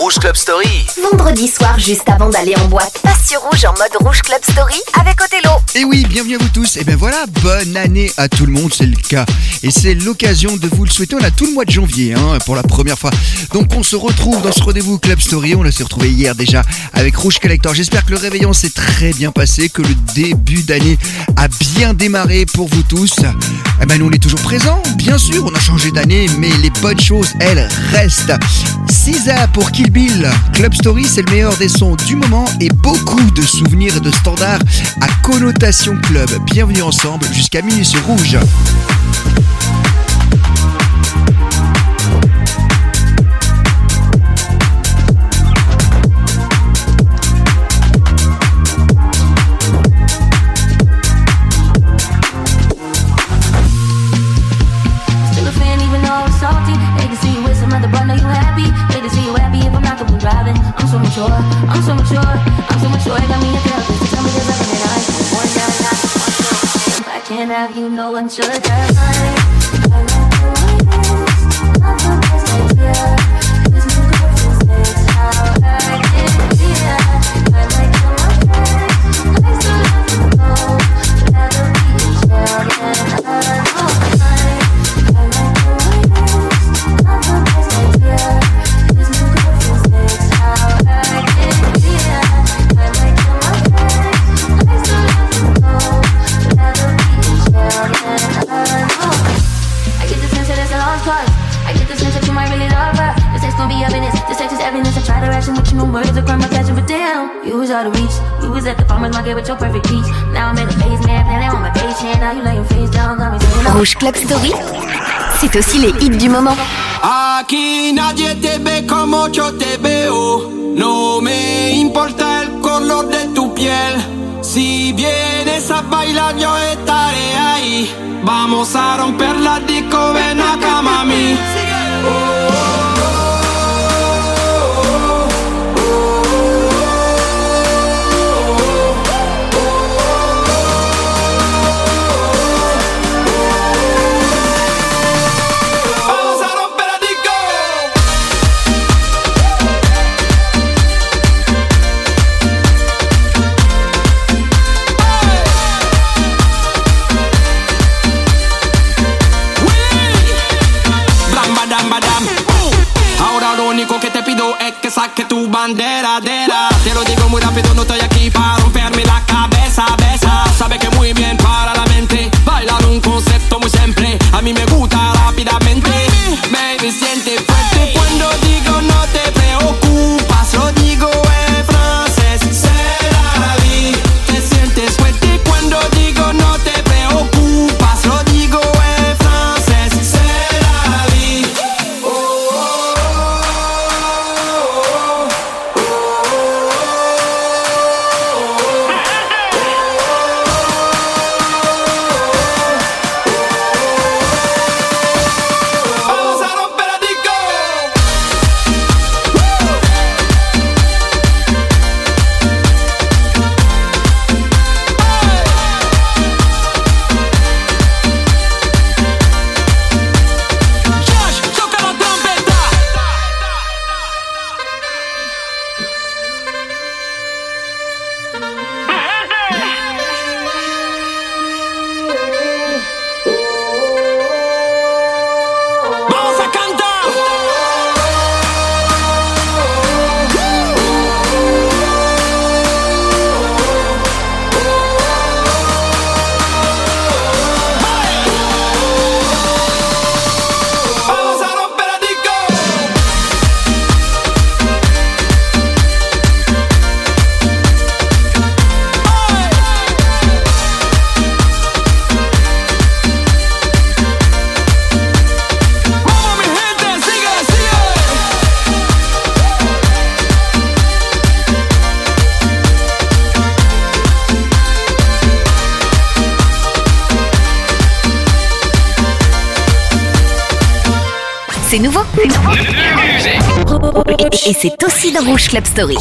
Rouge Club Story. Vendredi soir, juste avant d'aller en boîte, passe sur Rouge en mode Rouge Club Story avec Othello. Et oui, bienvenue à vous tous. Et bien voilà, bonne année à tout le monde, c'est le cas. Et c'est l'occasion de vous le souhaiter. On a tout le mois de janvier pour la première fois. Donc on se retrouve dans ce rendez-vous Club Story. On s'est retrouvé hier déjà avec Rouge Collector. J'espère que le réveillon s'est très bien passé, que le début d'année a bien démarré pour vous tous. Eh ben nous on est toujours présents, bien sûr, on a changé d'année, mais les bonnes choses, elles, restent. SZA pour Kill Bill. Club Story, c'est le meilleur des sons du moment et beaucoup de souvenirs et de standards à connotation club. Bienvenue ensemble jusqu'à minuit sur Rouge. I'm so mature, I got me a therapist to tell me there's nothing that I want now. I can't have you, no one should have. I like the way this, not the best idea. This new girlfriend's next, how I can be that. I like your friends, I still have to know. Rather be a child than I know. I like the way this, not the best idea. This new girlfriend's next, how I can be that. I like your friends, I still have to know. Rather be a child than I know. I get the sense that it's a lost cause. I get the sense that you might really love her. This text gon' be evidence, this text is evidence. I try to ration with you, no words to cry my passion, but damn, you was out of reach. You was at the farmer's market with your perfect peach. Now I'm in the basement, planning on my patient. Now you lay your face down, got me saying Rouge Club Story, c'est aussi les hits du moment. Aquí nadie te ve como yo te veo. No me importa el color de tu piel. Si vienes a bailar yo estaré ahí. Vamos a romper la disco, ven acá mami. Que saque tu bandera, te lo digo muy rápido, no estoy aquí para romperme la cabeza, besa. Sabe que muy bien para la mente, bailar un concepto muy simple, a mí me gusta rápidamente. Baby, siente fuerte cuando digo no te preocupas, lo digo en francés, c'est la vie. Te sientes fuerte cuando digo no te preocupas, lo digo en francés, c'est la vie. C'est nouveau. Et c'est aussi dans Rouge Club Story.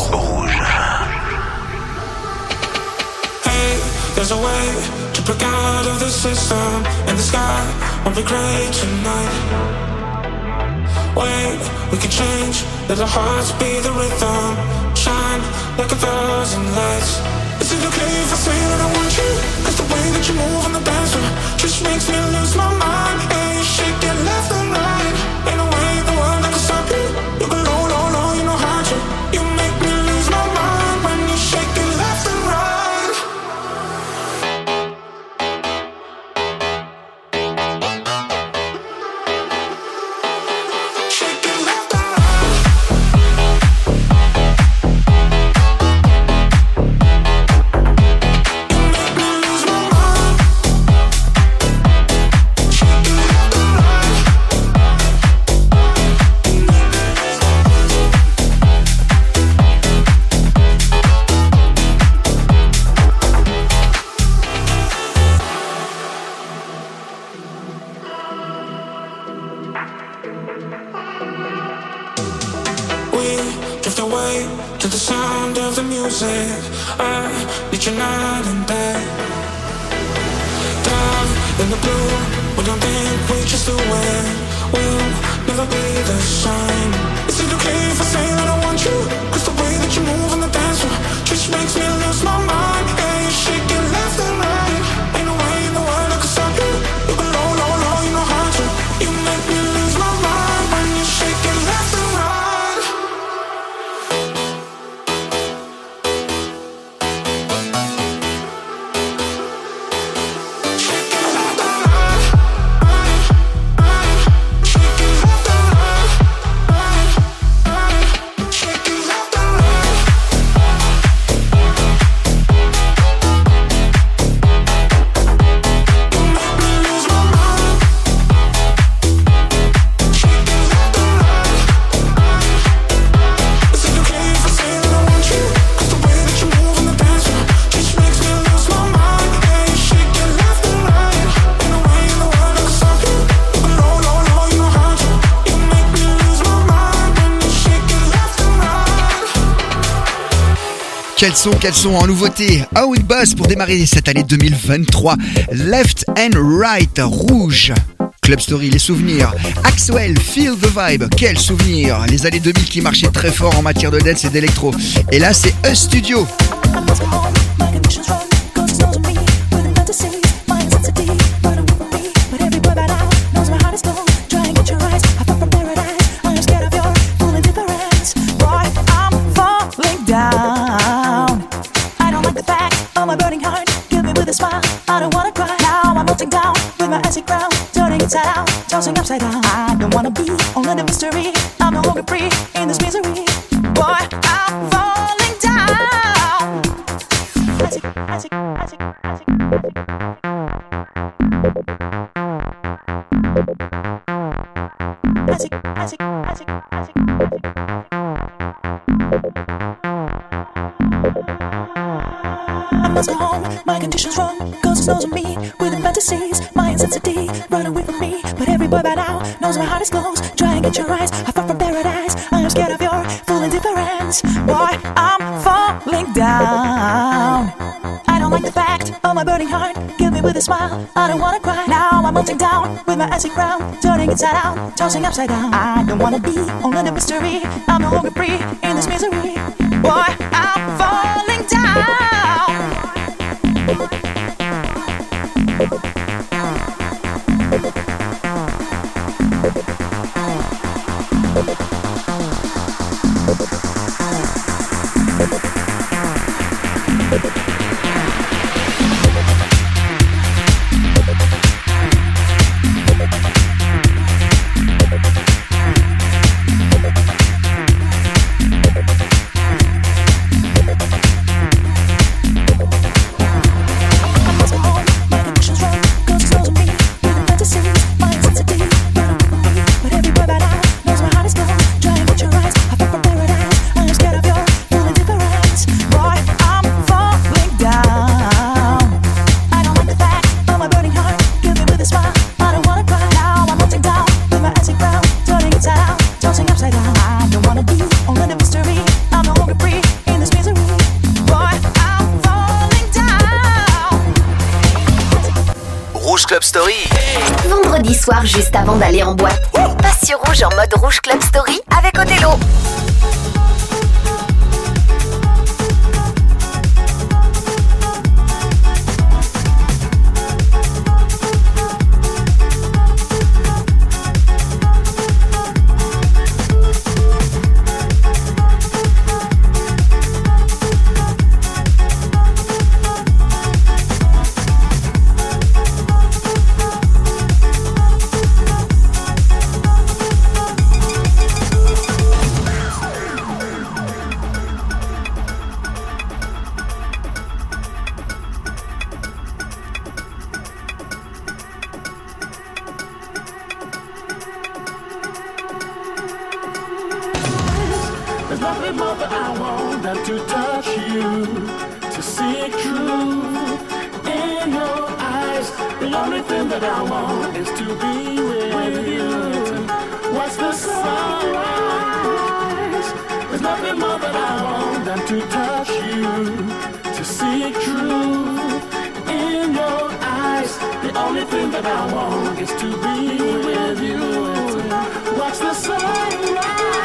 Hey, there's a way to break out of the system, and the sky won't be gray tonight. wait, we can change. Let our hearts be the rhythm. Shine like 1,000 lights. Is it okay if I say that I want you? Cause the way that you move on the dance floor just makes me lose my mind. And you shake it left and right. Ain't no way in the world I can stop you. You go low, low, low, you know how to. You make me lose my mind when you shake it left and right. Shake it left and right. You make me lose my mind. Shake it left and right. We drift away to the sound of the music. I need you night and day. Down in the blue, we don't think we just do it. We'll never be the same. Is it okay if I say that I want you? Cause the way that you move on the dance floor just makes me lose my mind. Yeah, you shake it left and right. Ain't no way in the world I can stop you. You go low, low, low, you know how to. You make me lose my mind when you shake it left and right. Shake it left and right. Shake it left and right. Shake it left and right. You make me lose my mind. Shake it left and right. Is it okay if I say that I want you? Cause the way that you move on the dance floor just makes me lose my mind. Yeah, you shake it left and right. Ain't no way in the world I can stop you. You go low, low, low, you know how to. You make me lose my mind when you shake it left and right. Quels sont en nouveauté? How It Buzz pour démarrer cette année 2023. Left and Right, Rouge. Club Story, les souvenirs. Axwell, Feel the Vibe, quel souvenir. Les années 2000 qui marchaient très fort en matière de dance et d'électro. Et là, c'est A Studio. I must go home, my conditions wrong. Cause it knows me, with the fantasies, my intensity, running with me. But every boy by now knows my heart is cold. Try and get your eyes, I fell from paradise. I am scared of your full indifference. Boy, I'm falling down. I don't like the fact of my burning heart. Give me with a smile, I don't wanna cry. Now I'm melting down with my acid crown. Turning inside out, tossing upside down. I don't wanna be only the mystery. I'm no longer free in this misery. Boy, I'm falling down. I must go home, my condition's wrong. Cause it knows of me, with the fantasies, my intensity, run away from me. But every boy by now knows my heart is closed. Try and get your eyes, I fell from paradise. I am scared of your full indifference. Boy, I'm falling down. I don't like the fact of my burning heart. Give me with a smile, I don't wanna cry. Now I'm melting down with my acid crown. Turning inside out, tossing upside down. I don't wanna be only the mystery. I'm no longer free in this misery. Boy, I'm falling down. Vendredi soir juste avant d'aller en boîte. Passe sur Rouge en mode Rouge Club Story avec Othello. There's nothing more that I want than to touch you, to see truth in your eyes. The only thing that I want is to be with you. Watch the sunrise. There's nothing more that I want than to touch you, to see truth in your eyes. The only thing that I want is to be with you. Watch the sunrise.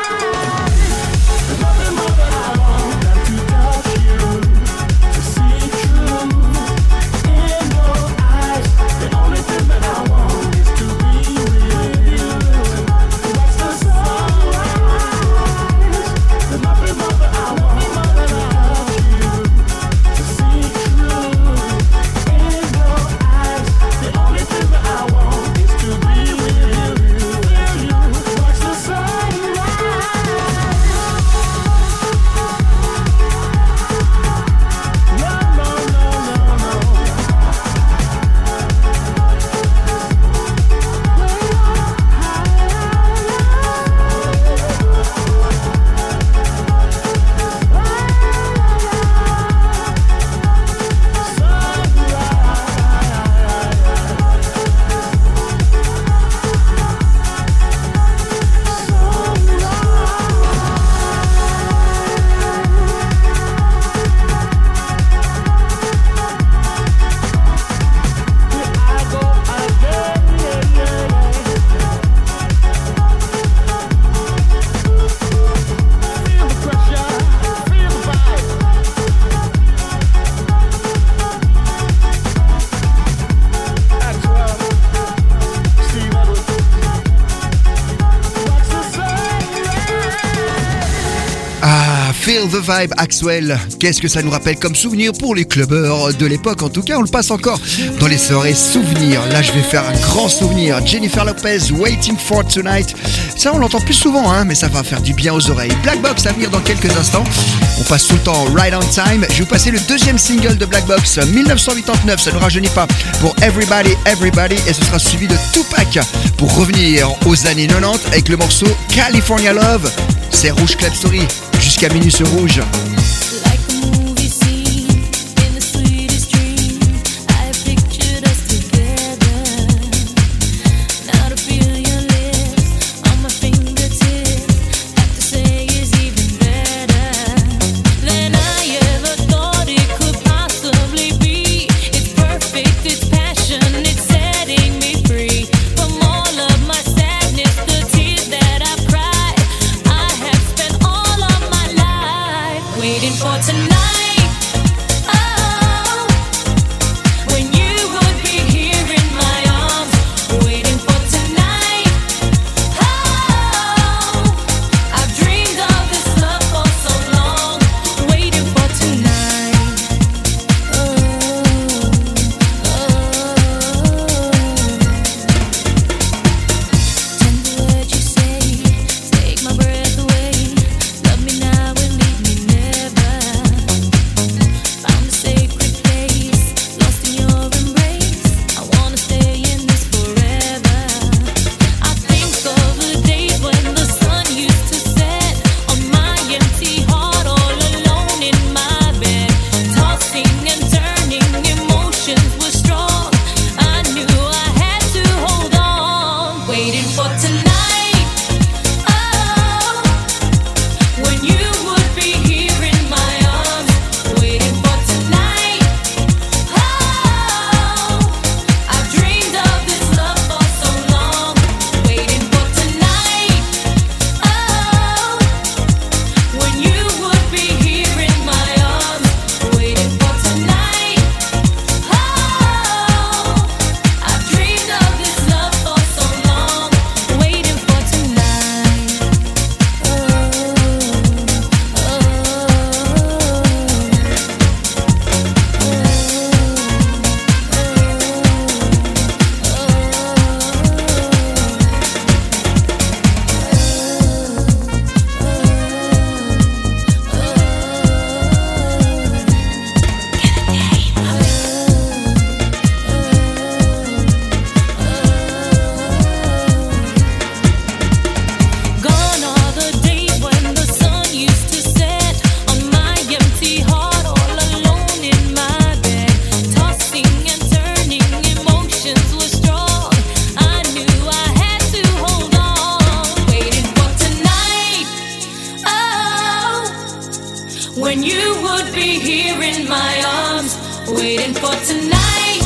Nothing more than I want than to touch you, to see truth in your eyes. The only thing that I want is to be with you. Watch the sunrise. There's nothing more that I want than to touch you, to see truth in your eyes. The only thing that I want is to be with you. Watch the sunrise. Feel the Vibe, Axwell. Qu'est-ce que ça nous rappelle comme souvenir pour les clubbers de l'époque? En tout cas, on le passe encore dans les soirées souvenirs. Là, je vais faire un grand souvenir. Jennifer Lopez, Waiting for Tonight. Ça, on l'entend plus souvent, hein, mais ça va faire du bien aux oreilles. Black Box à venir dans quelques instants. On passe tout le temps Right on Time. Je vais vous passer le deuxième single de Black Box, 1989. Ça ne rajeunit pas, pour Everybody, Everybody. Et ce sera suivi de Tupac pour revenir aux années 90 avec le morceau California Love. C'est Rouge Club Story. Jusqu'à minuit sur Rouge. Like a movie scene in the sweetest dream, I pictured us together. Now to feel your lips on my fingertips, have to say is even better than I ever thought it could possibly be. It's perfect, it's passion, it's setting me free from all of my sadness, the tears that I've cried. I have spent all of my life waiting for tonight. Oh, when you would be here in my arms, waiting for tonight. Oh, I've dreamed of this love for so long, waiting for tonight. Oh, tender words you say, take my breath away. Love me now and leave me never. when you would be here in my arms, waiting for tonight.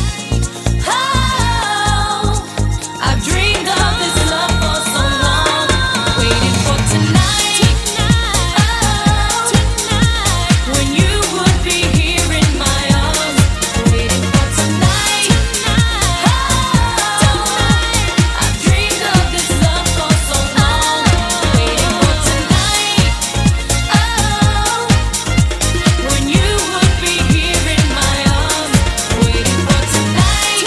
Oh, I've dreamed of this love for so long, waiting for tonight. Oh, when you would be here in my arms, waiting for tonight. Oh, I've dreamed of this love for so long, waiting for tonight. Oh, when you would be here in my arms, waiting for tonight.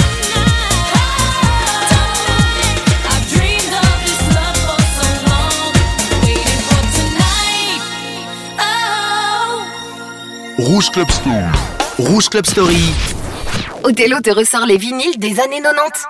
I've dreamed of this love for so long, waiting for tonight. Rouge Club Story. Rouge Club Story. Othello te ressort les vinyles des années 90.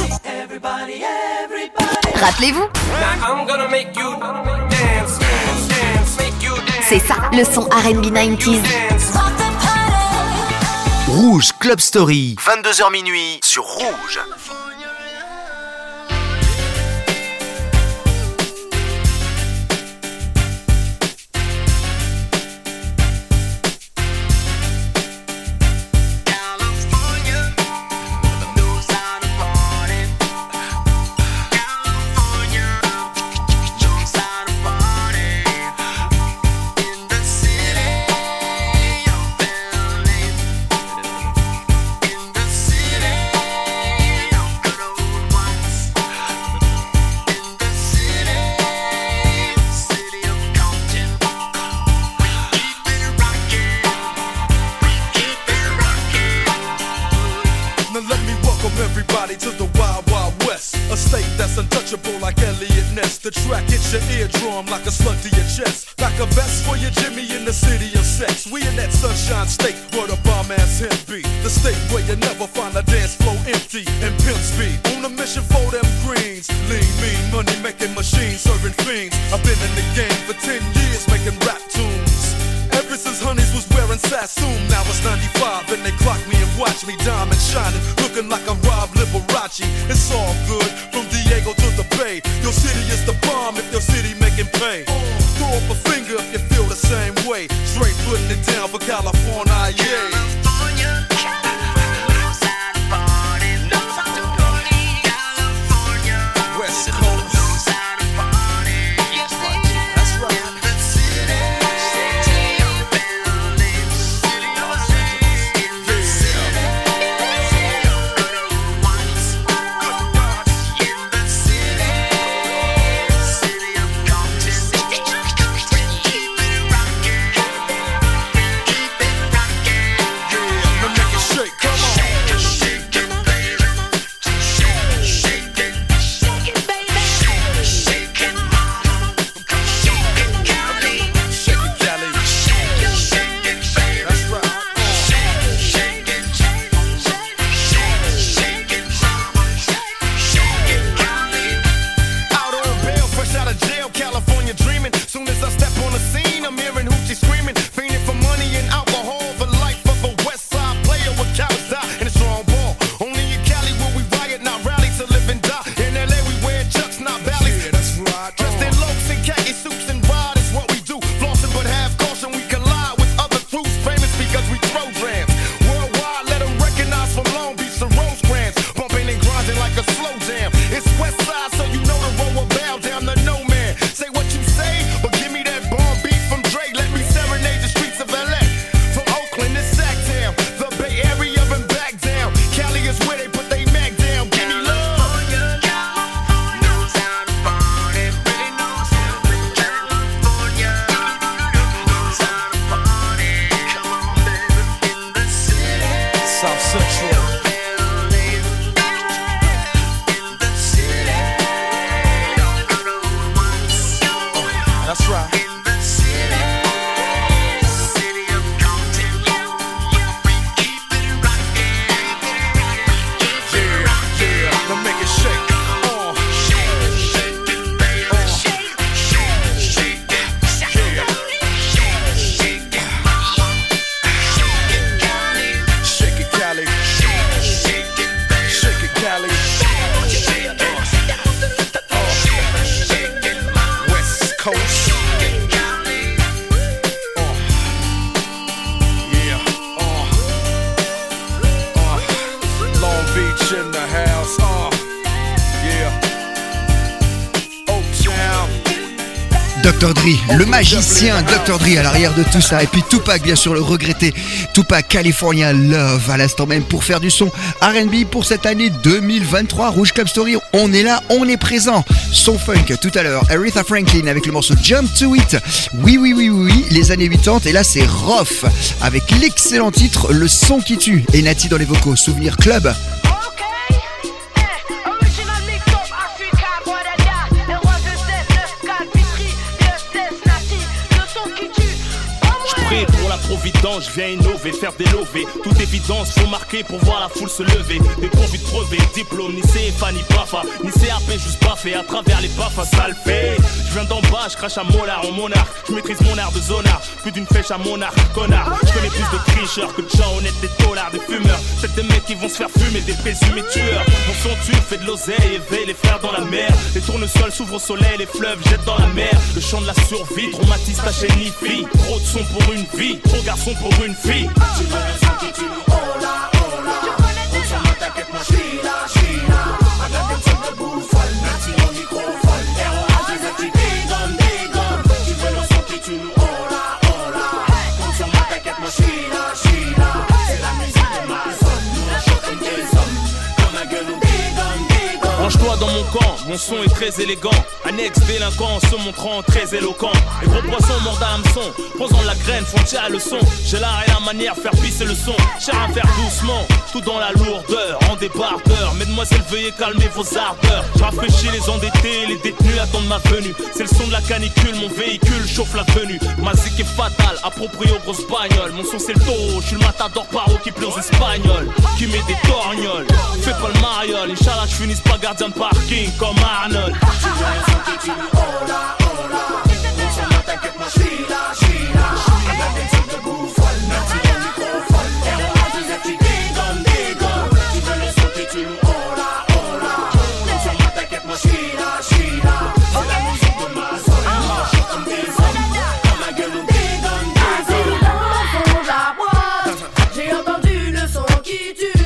Rappelez-vous, Now I'm gonna make you dance. C'est ça, le son R&B 90s. Rouge Club Story, 22h minuit sur Rouge. The track hits your eardrum like a slug to your chest. Like a vest for your Jimmy in the city of sex. We in that sunshine state where the bomb ass hemp be. The state where you never find a dance floor empty and pimp speed. On a mission for them greens. Lean, mean, money making machines serving fiends. I've been in the game for 10 years making rap tunes. Ever since Honeys was wearing Sassoon. Now it's 95 and they clock me and watch me diamond shining. Looking like I'm Rob Liberace. It's all good from Diego to the Bay. Your city is the bomb if your city making pay. Throw up a finger if you feel the same way. Straight putting it down for California, yeah. West Coast. Dr. Dre, le magicien Dr. Dre à l'arrière de tout ça. Et puis Tupac, bien sûr, le regretté Tupac, California Love à l'instant même pour faire du son R&B pour cette année 2023. Rouge Club Story, on est là, on est présent. Son funk tout à l'heure, Aretha Franklin avec le morceau Jump to It. Oui, les années 80. Et là, c'est Roth avec l'excellent titre Le son qui tue. Et Nati dans les vocaux, Souvenir Club. Pour la vidange, je viens innover, faire des lovés. Toute évidence, faut marquer pour voir la foule se lever. Dépourvu de brevet, diplôme, ni CFA, ni BAFA, ni CAP, juste baffé à travers les baffes, ça le fait. Je viens d'en bas, je crache à molar en monarque. Je maîtrise mon art de zonard, plus d'une flèche à monarque, connard. Je connais plus de tricheurs que de gens honnêtes, des taulards, des fumeurs. Peut-être des mecs qui vont se faire fumer, des présumés tueurs. Mon son tue, fait de l'oseille, éveille les frères dans la mer. Les tournesols s'ouvrent au soleil, les fleuves jettent dans la mer. Le chant de la survie, traumatise ta chaîne ni fille. Trop de son pour une vie, trop garçon pour une fille. Tu veux le son qui tue, oh là, oh là. On s'en va, t'inquiète, moi j'suis là, j'suis là. I got them tête debout, folle, Nancy au microphone. ROH, les actifs, dégomme. Tu veux le son qui tue, oh là, oh là. On s'en va, t'inquiète, moi j'suis là, j'suis là. C'est la musique de ma zone, nous on chante comme des hommes. Comme un gueule, on dégomme. Range-toi dans mon camp, mon son est très élégant. Annexe délinquant se montrant très éloquent. Les gros poissons mordent à hameçon, posant la graine, frontière à le son. J'ai l'art et la manière, faire pisser le son. Cher à faire doucement, tout dans la lourdeur, en débardeur. Mesdemoiselles, veuillez calmer vos ardeurs. Je rafraîchis les endettés, les détenus attendent ma venue. C'est le son de la canicule, mon véhicule chauffe la venue. Ma zik est fatale, approprié aux grosses bagnoles. Mon son c'est le taureau, je suis le matador paro qui pleure aux espagnols, qui met des torgnoles. Fais pas le mariole, Inch'Allah je finisse pas gardien de parking comme Arnold. Tu veux le son qui tue, oh là, oh là. On s'en va, t'inquiète, moi j'suis là, j'suis là. I got them tête debout, folle, Nancy au microphone. ROH, les actifs, dégomme. Tu veux le son qui tue, oh là, oh là. On s'en va, t'inquiète, moi j'suis là, j'suis là. C'est la musique de ma zone, nous on chante comme des hommes. Comme un gueule, on dégomme. Assis dans le fond de la boîte, j'ai entendu le son qui tue.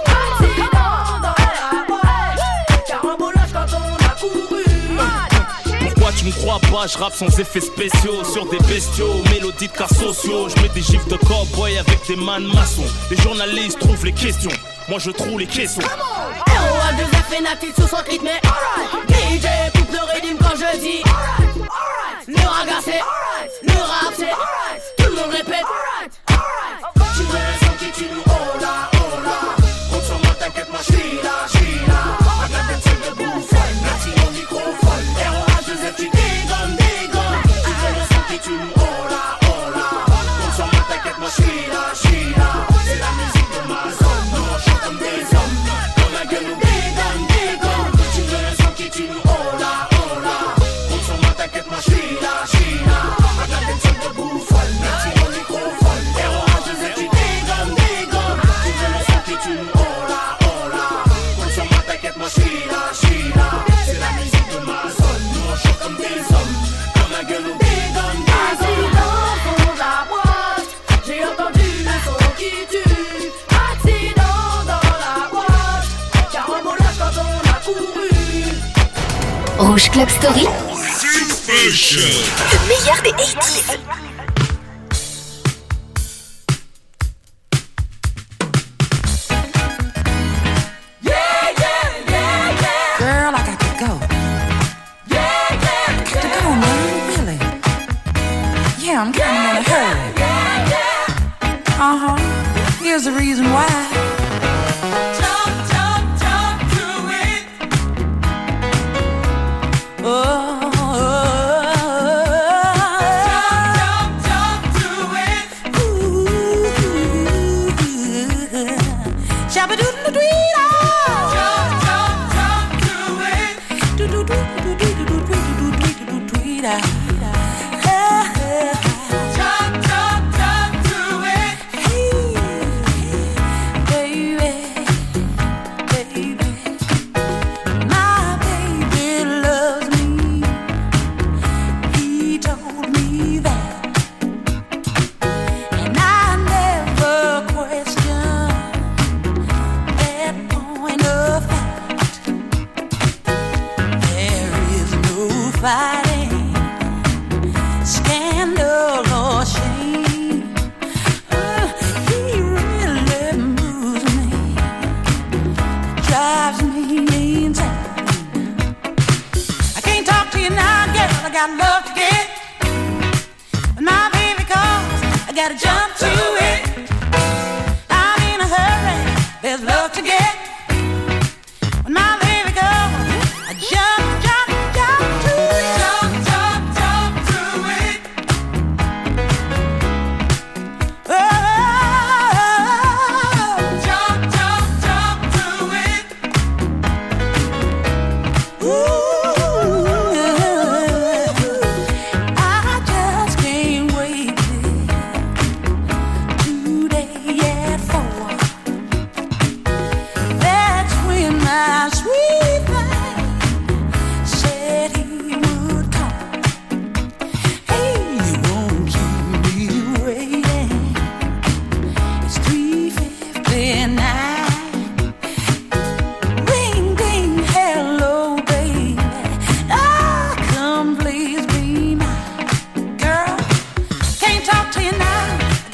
Accident dans la boîte, carambolage quand on a couru. Pourquoi tu me crois pas, je rappe sans effets spéciaux. Sur des bestiaux, mélodies de cas sociaux. Je mets des gifs de cowboy avec des man maçons. Les journalistes trouvent les questions, moi je trouve les caissons. ROH, 2F et Nati sur son rythme, DJ coupe le rythme quand je dis le raga c'est le rap c'est tout le monde répète. Tu veux le son qui tue, oh là, oh là. On s'en va, t'inquiète, moi j'suis là, j'suis là. I got them tête debout, folle, Nancy au microphone. ROH, 2F, tu dégomme. Tu veux le son qui tue, oh là, oh là. On s'en va, t'inquiète, moi j'suis là, j'suis là. C'est la musique de ma zone, nous on chante comme des hommes. Comme un gueule, on dégomme. Tu veux le son qui tue, oh là, oh là. On s'en va, t'inquiète, moi j'suis là, j'suis là. I got them tête debout, folle, Nancy au microphone. ROH, 2F, tu dégomme. Tu veux le son qui tue, oh là, oh là. On s'en va, t'inquiète, moi j'suis là, j'suis là. C'est la musique de ma zone, nous on chante comme des hommes. Comme un gueule, on dégomme. Assis dans le fond de la boîte, j'ai entendu le son qui tue. Accident dans la boîte, carambolage quand on a couru. Rouge Club Story, le meilleur des 80s. Girl, I got to go. Got to go, man, really. Yeah, I'm kind of in a hurry. Here's the reason why. Talk to it. Oh. Talk to it. Ooh. Shabba-doodle-doo-doo.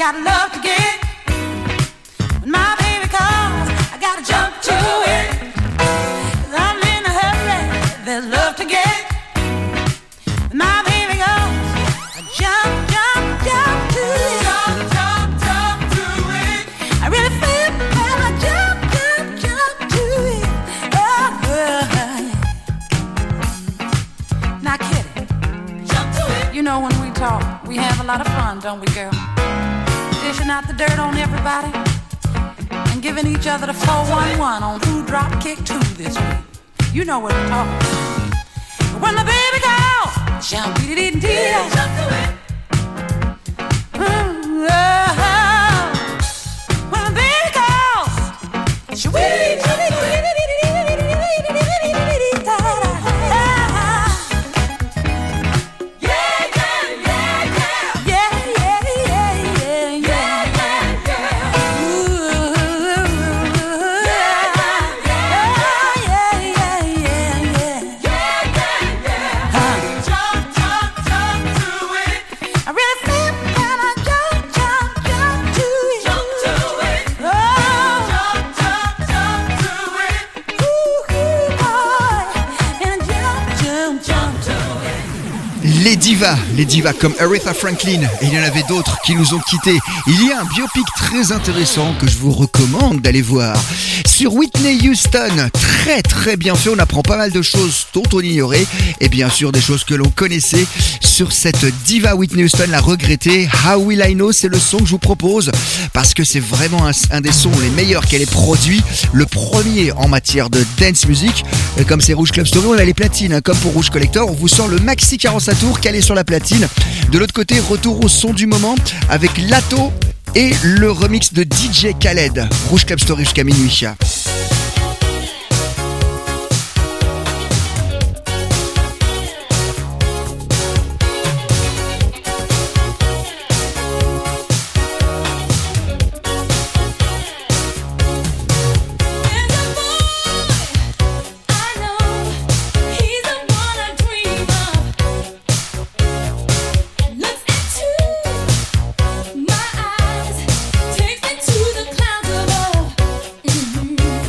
got love to give. When my baby calls, I gotta jump to it. 'Cause I'm in a hurry, there's love to get. When my baby goes, I jump, jump, jump to it. Jump, jump, jump to it. I really feel when I jump, jump, jump to it. Oh, now, Kitty, jump to it. You know when we talk, we have a lot of fun, don't we, girl? Dishing out the dirt on everybody and giving each other the 411 on who dropped kick 2 this week. You know what I'm talking about. When the baby calls, jump, jump to it. When the baby calls, jump to it. Les divas comme Aretha Franklin, et il y en avait d'autres qui nous ont quittés. Il y a un biopic très intéressant que je vous recommande d'aller voir. Sur Whitney Houston, très très bien fait, on apprend pas mal de choses dont on ignorait, et bien sûr des choses que l'on connaissait sur cette diva Whitney Houston, la regrettée. How Will I Know, c'est le son que je vous propose, parce que c'est vraiment un des sons les meilleurs qu'elle ait produit, le premier en matière de dance music. Et comme c'est Rouge Club Story, on a les platines, comme pour Rouge Collector, on vous sort le maxi 45 tours calé sur la platine. De l'autre côté, retour au son du moment avec Lato et le remix de DJ Khaled. Rouge Club Story jusqu'à minuit. My eyes take me to the clouds above.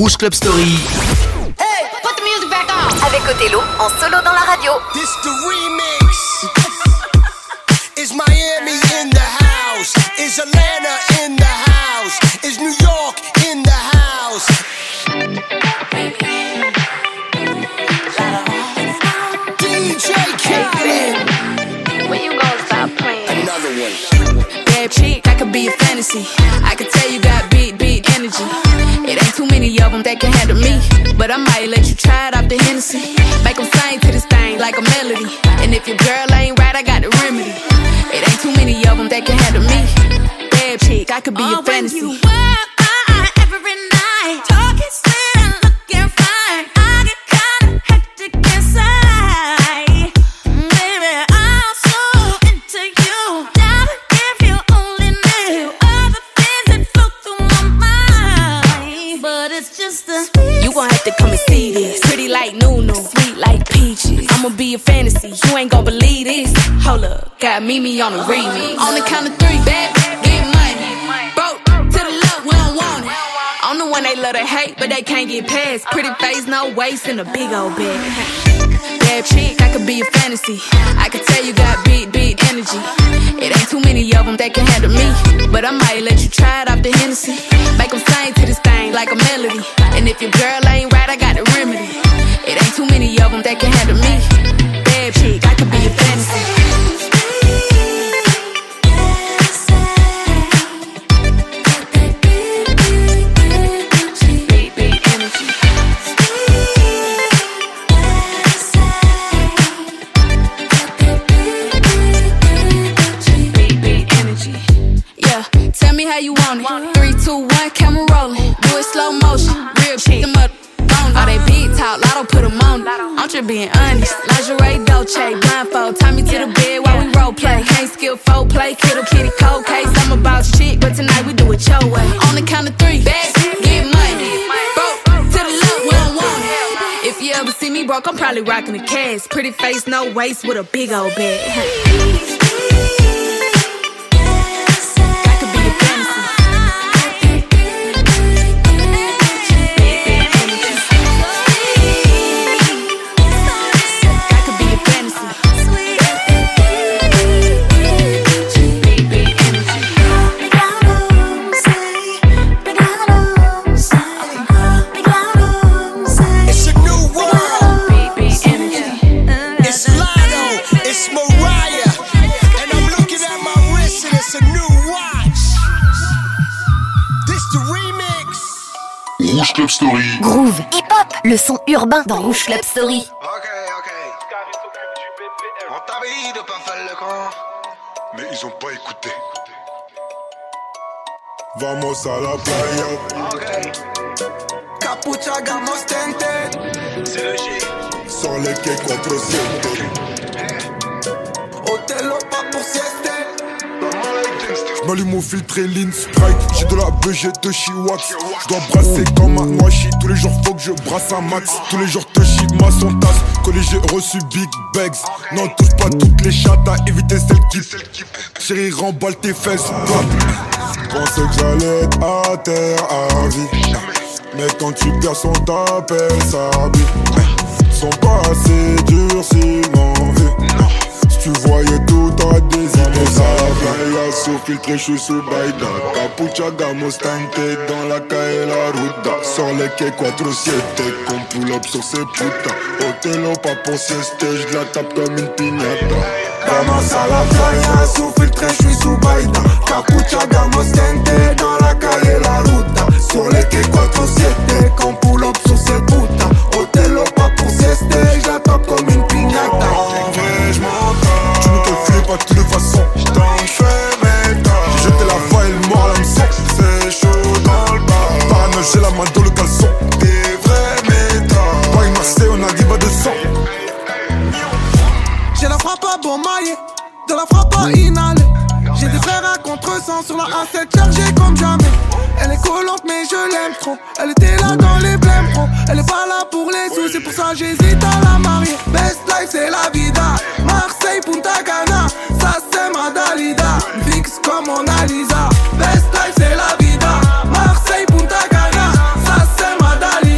Rouge Club Story. Hey, put the music back on. Avec Othello en solo dans la radio. This the remix. Is Miami in the house? Is Atlanta in the house? Is New York in the house? DJ Khaled. When you gonna stop playing? Another one. Bad chick, I could be a fantasy. I could tell you got big energy. It ain't too many of them that can handle me. But I might let you try it off the Hennessy. Make them sing to this thing like a melody. And if your girl ain't right, I got the remedy. It ain't too many of them that can handle me. Bad chick, I could be a fantasy. When you work every night, talking sweet and looking fine, I get kinda hectic inside. Baby, I'm so into you. Now if you only knew all the things that flow through my mind. But it's just the You gon' have to come and see this. Pretty like Nunu, sweet like peaches. I'ma be a fantasy, you ain't gon' believe this. Hold up, got Mimi on the remix. On the count of three, baby, get money. Broke to the left, we don't want it. I'm the one they love to hate, but they can't get past. Pretty face, no waist, and a big old bag. Bad chick, I could be a fantasy. I could tell you got big energy. It ain't too many of them that can handle me. But I might let you try it off the Hennessy. Make them sing to this thing like a melody. And if your girl ain't right, I got the remedy. It ain't too many of them that can handle me. Bad chick, I could be a fantasy. Tell me how you want it. 3, 2, 1, camera rolling. Do it slow motion. Real chick, them up on all they big talk, lotto put them on it. I'm just being honest. Lingerie, Dolce, blindfold. Tie me to the bed while we role play. Can't skill folk play, kiddo kitty cold case. I'm about shit, but tonight we do it your way. On the count of 3, bags, get money. Broke to the left, we don't want it. If you ever see me broke, I'm probably rocking a cast. Pretty face, no waist, with a big old bag. Rouge Club Story. Groove, hip-hop, le son urbain dans Rouge Club Story. On t'avait dit de pas faire le camp, mais ils ont pas écouté. Vamos a la playa. Capucha, gamos, tente. C'est le G. Sur les quais 4-7. Othello, pas pour sieste. J'm'allume au filtre et lean Sprite. J'ai de la BG de Chiwax. J'dois brasser comme un noachi. Tous les jours faut que je brasse un max. Tous les jours te chie ma son tasse. Collé j'ai reçu big bags. Non touche pas toutes les chattes à éviter celles qui chérie remballe tes fesses. Pensais que j'allais être à terre à vie. Mais quand tu perds son t'appelle sa vie. Sont pas assez durs s'ils m'ont vu. Tu voyais tout, t'aurais des idées. Ça la sous filtré, j'suis sous Baïda. Capucha, gamos, tente dans la calle la ruta. Sur les quais 4-7, qu'on pull up sur ces putains. Othello, pas pour sieste, j'la tape comme une piñata. Vamos a la playa, sous filtré, j'suis sous Baïda. Capucha, gamos, tente dans la calle la ruta. Sur les quais 4-7, qu'on pull up sur ces putains. Othello, pas pour sieste, j'la tape comme une piñata. En vrai, j'm'entends. Tu ne te fais pas de toutes les façons. J'fais mes temps. J'ai jeté la voix et le mort à l'hameçon. C'est chaud dans le bar. Parano, j'ai la main dans le caleçon. Des vrais méthodes. Paris, Marseille, on arrive à 200. J'ai la frappe à bon maillet, de la frappe à inhaler. J'ai des frères à contre-sens sur la A7 chargée comme jamais. Elle est collante mais je l'aime trop. Elle était là dans les blèmes pro. Elle est pas là pour les sous, c'est pour ça j'hésite à la marier. Best life c'est la vida. Marseille, Punta Cana, ça c'est ma Dalida. Fixe comme Mona Lisa. Best life c'est la vida. Marseille, Punta Cana, ça c'est ma Dalida.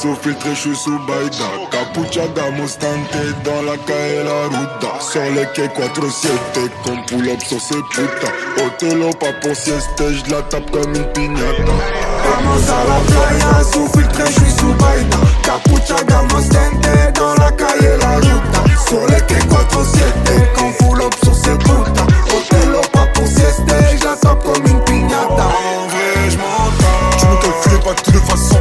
sous filtré, je suis sous baïda. Capuchada, Mustante, dans la calle la ruta. Sur les quais 4-7, comme pull-up sur ces putas. Otelo, pas pour sieste, je la tape comme une piñata. Vamos à la playa, sous filtré, je suis sous baïda. Capuchada, Mustante, dans la calle la ruta. Sur les quais 4-7, comme pull-up sur ces putas. Otelo, pas pour sieste, je la tape comme une piñata. En vrai, je m'entends. Tu me calcules pas de toute façon.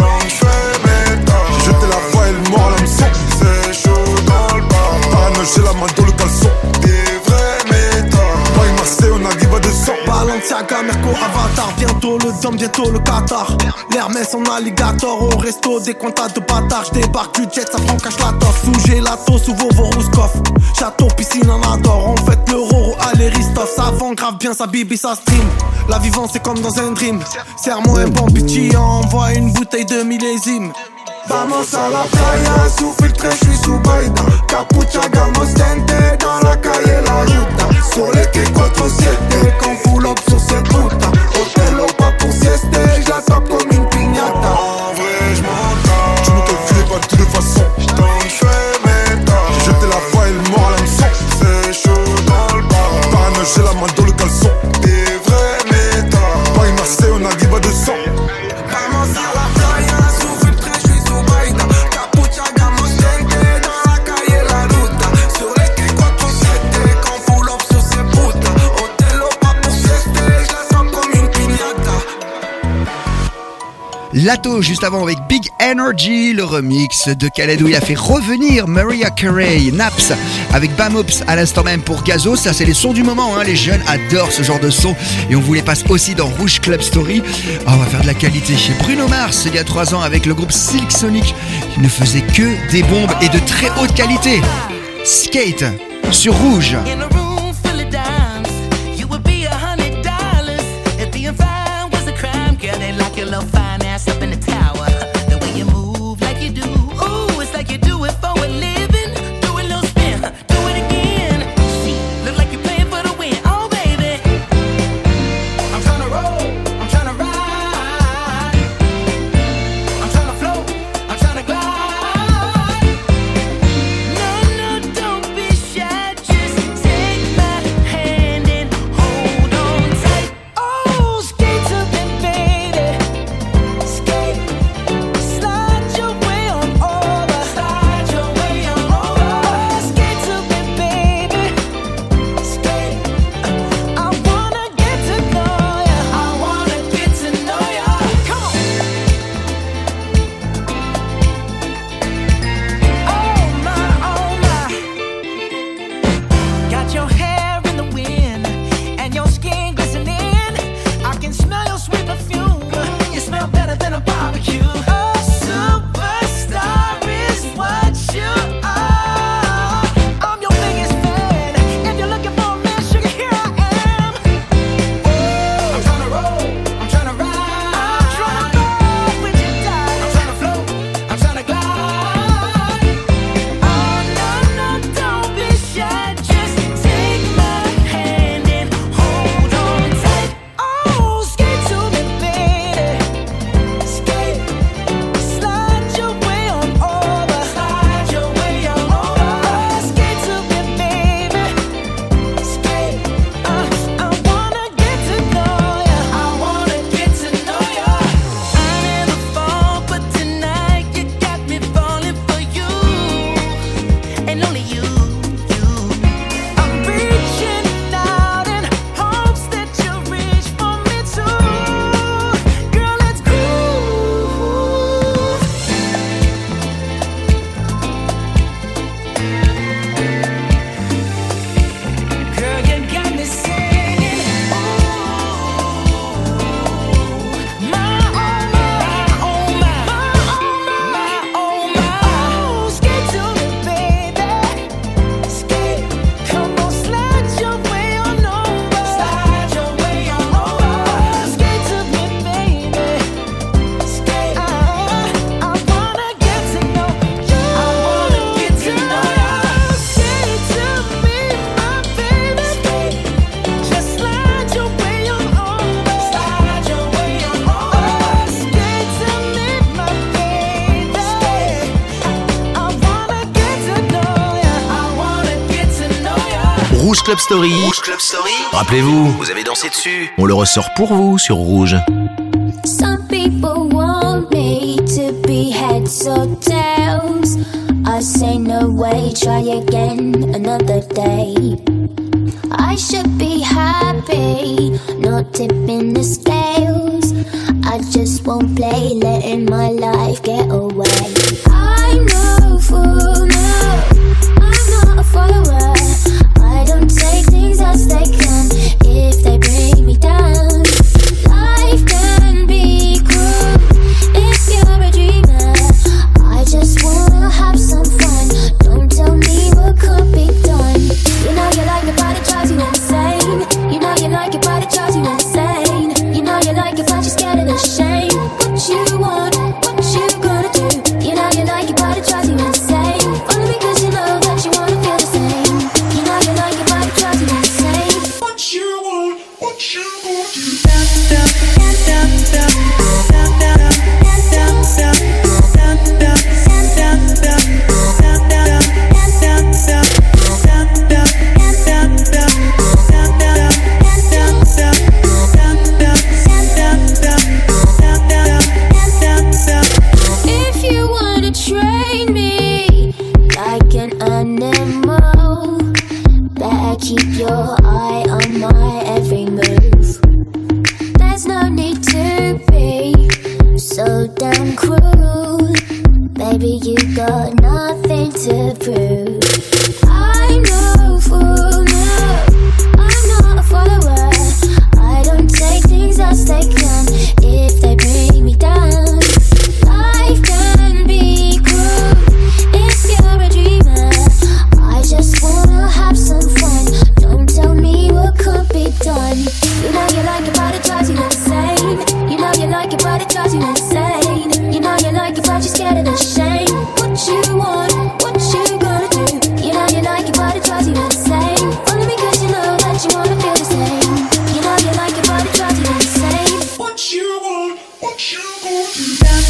J'ai jeté la voix et le mort à l'hameçon. C'est chaud dans le bar. Paranoïe, j'ai la main dans le caleçon. Des vrais méthodes. Paris, Marseille, on arrive à 200. Balenciaga, Merco, Avatar. Bientôt le Dom, bientôt le Qatar. L'Hermès en alligator. Au resto, des comptas de bâtards. J'débarque du jet, ça prend cache la torse. Sous gelato, sous vos Rouskov. Château, piscine en adore. On fête le Roro, allez Ristov. Ça vend grave bien, ça bibi, ça stream. La vivance c'est comme dans un dream. Serre-moi un bon petit, envoie une bouteille de millésime. Vamos a la playa, sous filtré, je suis sous baïda. Capuchada, Mustante, dans la calle la ruta. Sur les quais 4-7, qu'on pull up sur cette puta. Otelo, pas pour sieste, je la tape comme une piñata. En vrai, je m'entends. Tu me calcules pas de toute façon. J't'en fais mes temps. J'ai jeté la voix et le mort à l'hameçon. C'est chaud dans le bar. Paranoïe, j'ai la main dans le caleçon. Des vrais méthodes. Paris, Marseille, on arrive à 200. Vamos a la playa, sous filtré, je suis sous baïda. Capuchada, Mustante, dans la calle la ruta. Sur les quais 4-7, qu'on pull up sur ces putas. Otelo, pas pour sieste, je la tape comme une piñata. Lato, juste avant avec Big Energy, le remix de Khaled où il a fait revenir Mariah Carey, Naps avec Bamops à l'instant même pour Gazo. Ça c'est les sons du moment, hein. Les jeunes adorent ce genre de son et on vous les passe aussi dans Rouge Club Story. Oh, on va faire de la qualité chez Bruno Mars il y a 3 ans avec le groupe Silk Sonic qui ne faisait que des bombes et de très haute qualité. Skate sur Rouge. Take Rouge Club Story. Rouge Club Story. Rappelez-vous, vous avez dansé dessus. On le ressort pour vous sur Rouge. Some people want me to be heads or tails. I say no way, try again another day. I should be happy, not tipping the scales. I just won't play, letting my life get away. I'm no fool, no, I'm not a follower. I don't take things as they come, if they bring me down. Life can be cruel, if you're a dreamer. I just wanna have some fun, don't tell me what could be done. You know you like it, but it drives you insane. You know you like it, but it drives you insane. You know you like it, but you're scared of the shame. What you want, what you gonna do? You know you like it, but it drives you insane. Only because you know that you wanna feel the same. You know you like it, but it drives you insane. What you want, what you gonna do? If you wanna train me like an animal, better keep your eye on my every move. There's no need to be so damn cruel. Baby, you got nothing to prove. I'm no fool, no, I'm not a follower. I don't take things as they come, if they bring me down. Life can be cruel, if you're a dreamer. I just wanna have some fun, don't tell me what could be done. You know you like it, but it drives you insane. You know you like it, but it drives you insane. You know you like it, but you're scared of the shame. What you want, what you gonna do? You know you like it, but it drives you insane. Only because you know that you wanna feel the same. You know you like it, but it drives you insane. What you want, what you gonna do?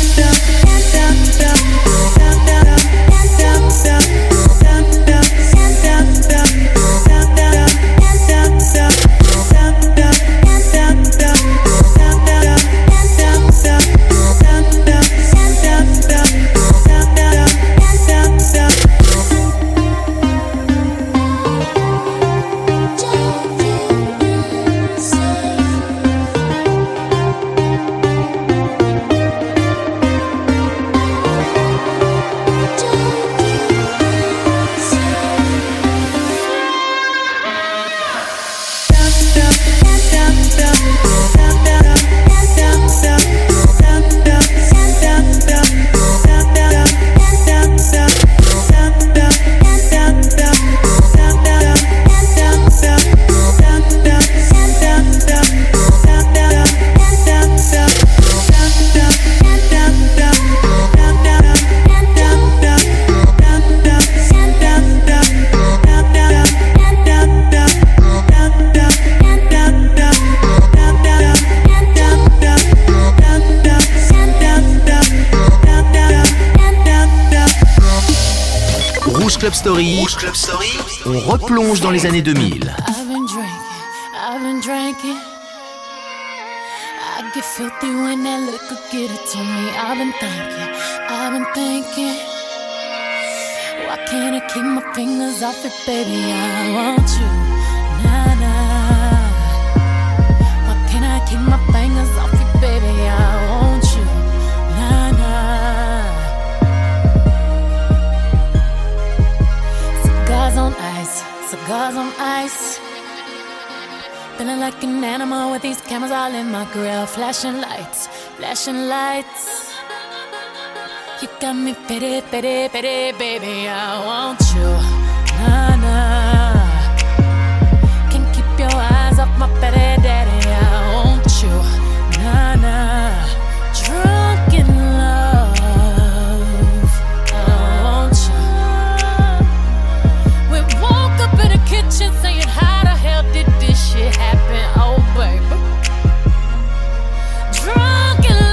Rouge Club Story. Rouge Club Story. On replonge dans les années 2000. I've been drinking. I get filthy when that liquor get it to me. I've been thinking. Why can't I keep my fingers off it, baby? I want you, nah, nah. Why can't I keep my fingers off it, baby? I want you, nah, nah. Cigars on ice. Feeling like an animal with these cameras all in my grill. Flashing lights. You got me pity, baby. I want you, nah, nah. Can't keep your eyes off my petty daddy. I want you, nah, nah. Drunk in love, I want you. We woke up in the kitchen saying, how the hell did this shit happen? Oh, baby. Drunk in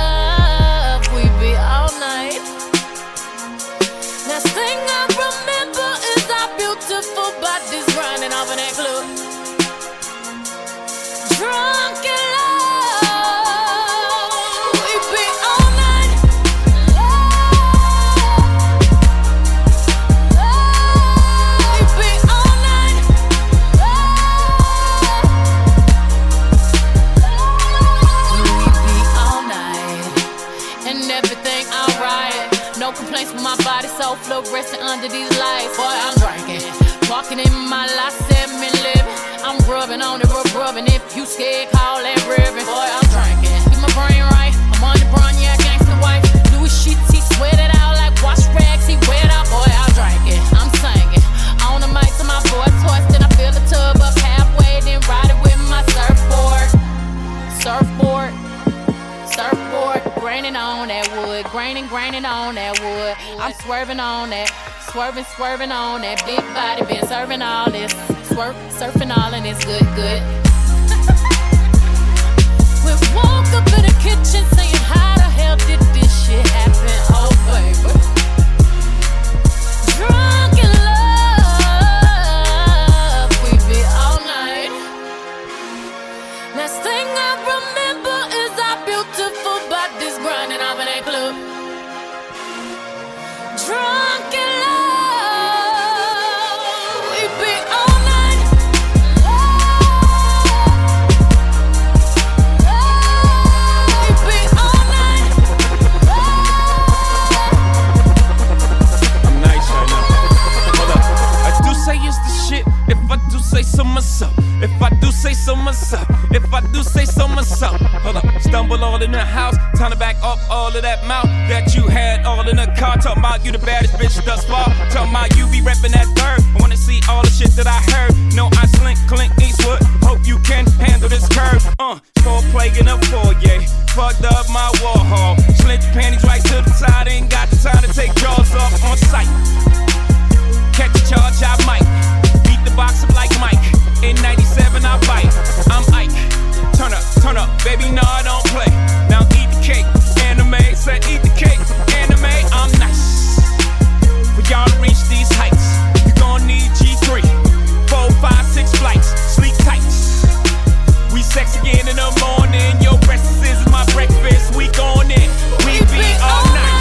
love, we be all night. Last thing I remember skate, call that ribbon. Boy, I'm drinking. Keep my brain right. I'm on the run, yeah, gangsta wife. Louis sheets, he sweat it out like wash rags. He wet out, boy, I'm drinking. I'm singing. On the mic to my boy toys, then I fill the tub up halfway, then ride it with my surfboard. Surfboard. Surfboard, graining on that wood, graining on that wood. I'm swerving on that, swerving on that big body. Been serving all this, surfing all and it's good. We woke up in the kitchen saying, how the hell did this shit happen? Oh baby, drunk in love, we be all night. Last thing I remember is our beautiful bodies grinding up in a club. Drunk in love, we be all night. We be all night. I'm nice right now. Hold up. I do say it's the shit. If I do say so myself. If I do say so myself. If I do say so myself. Hold up. Stumble all in the house. Time to back up all of that mouth that you had all in the car. Talking about you the baddest bitch thus far. Talking about you be reppin' that third. I wanna see all the shit that I heard. No, I slink, Clint Eastwood. Hope you can handle this curve. Foreplay in a foyer. Fucked up my Warhol. Slint your panties right to the side. Ain't got the time to take jaws off on sight. Catch a charge, I might. Beat the box up like Mike. In 97, I bite. I'm Ike. Turn up, baby, no, I don't play. Now eat the cake, anime. Said eat the cake, anime. I'm nice. For y'all to reach these heights, you gon' need G3. 4, 5, 6 flights, sleep tight. We sex again in the morning. Your breakfast is my breakfast. We gon' in. We be all night.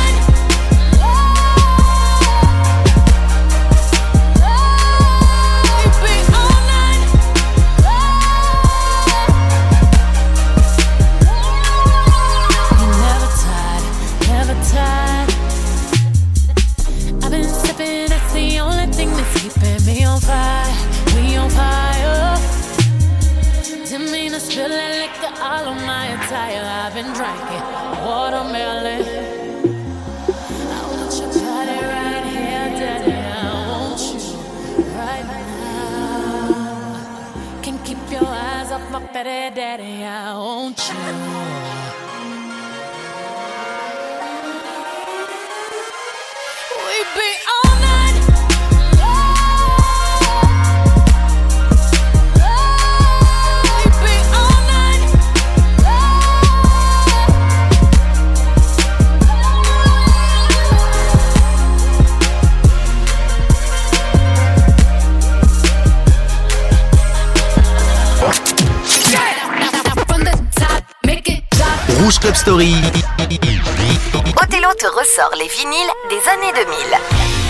I've been sipping, that's the only thing that's keeping me on fire. We on fire. Didn't mean to spill that liquor all on my attire. I've been drinking watermelon. I want your body right here, daddy. I want you right now. Can't keep your eyes off my fatty daddy. I want you. We be all night. We be all night. From the top, make it drop. Rouge Club Story. Othello te ressort les vinyles des années 2000.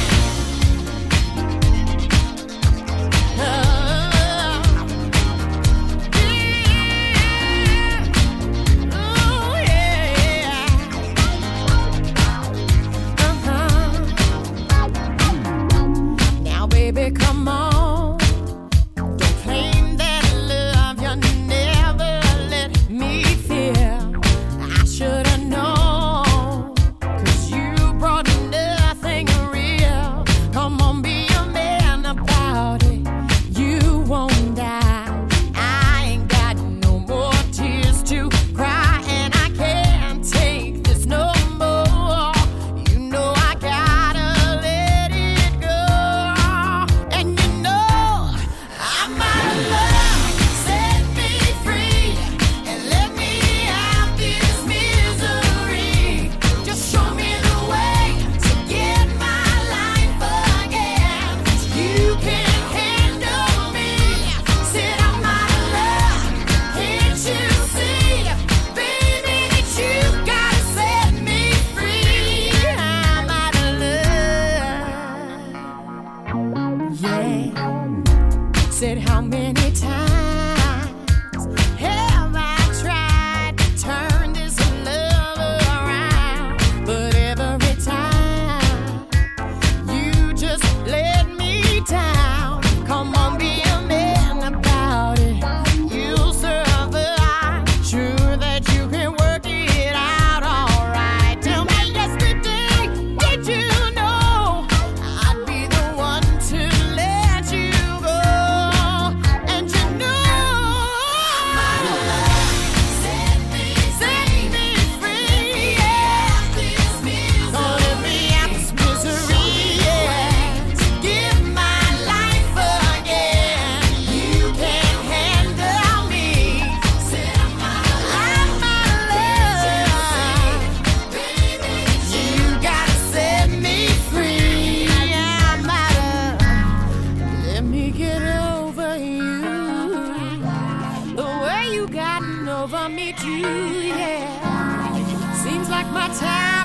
Now, baby, come on. Don't claim that love you never let me feel. I should've known, 'cause you brought nothing real. Come on, be a man about it. You won't die. I ain't got no more tears to cry, and I can't take this no more. You know I gotta let it go. And you know I'm out of love. Set me free and let me out this misery. Just show me the way to get my life again. You can handle me. Said I'm out of love. Can't you see, baby, that you gotta set me free? I'm out of love. Yeah. Said how many times have I tried to turn this love around? But every time you just let me down. Come on, be a man about it. You'll survive. get over you. The way you gotten over me too, yeah. Seems like my time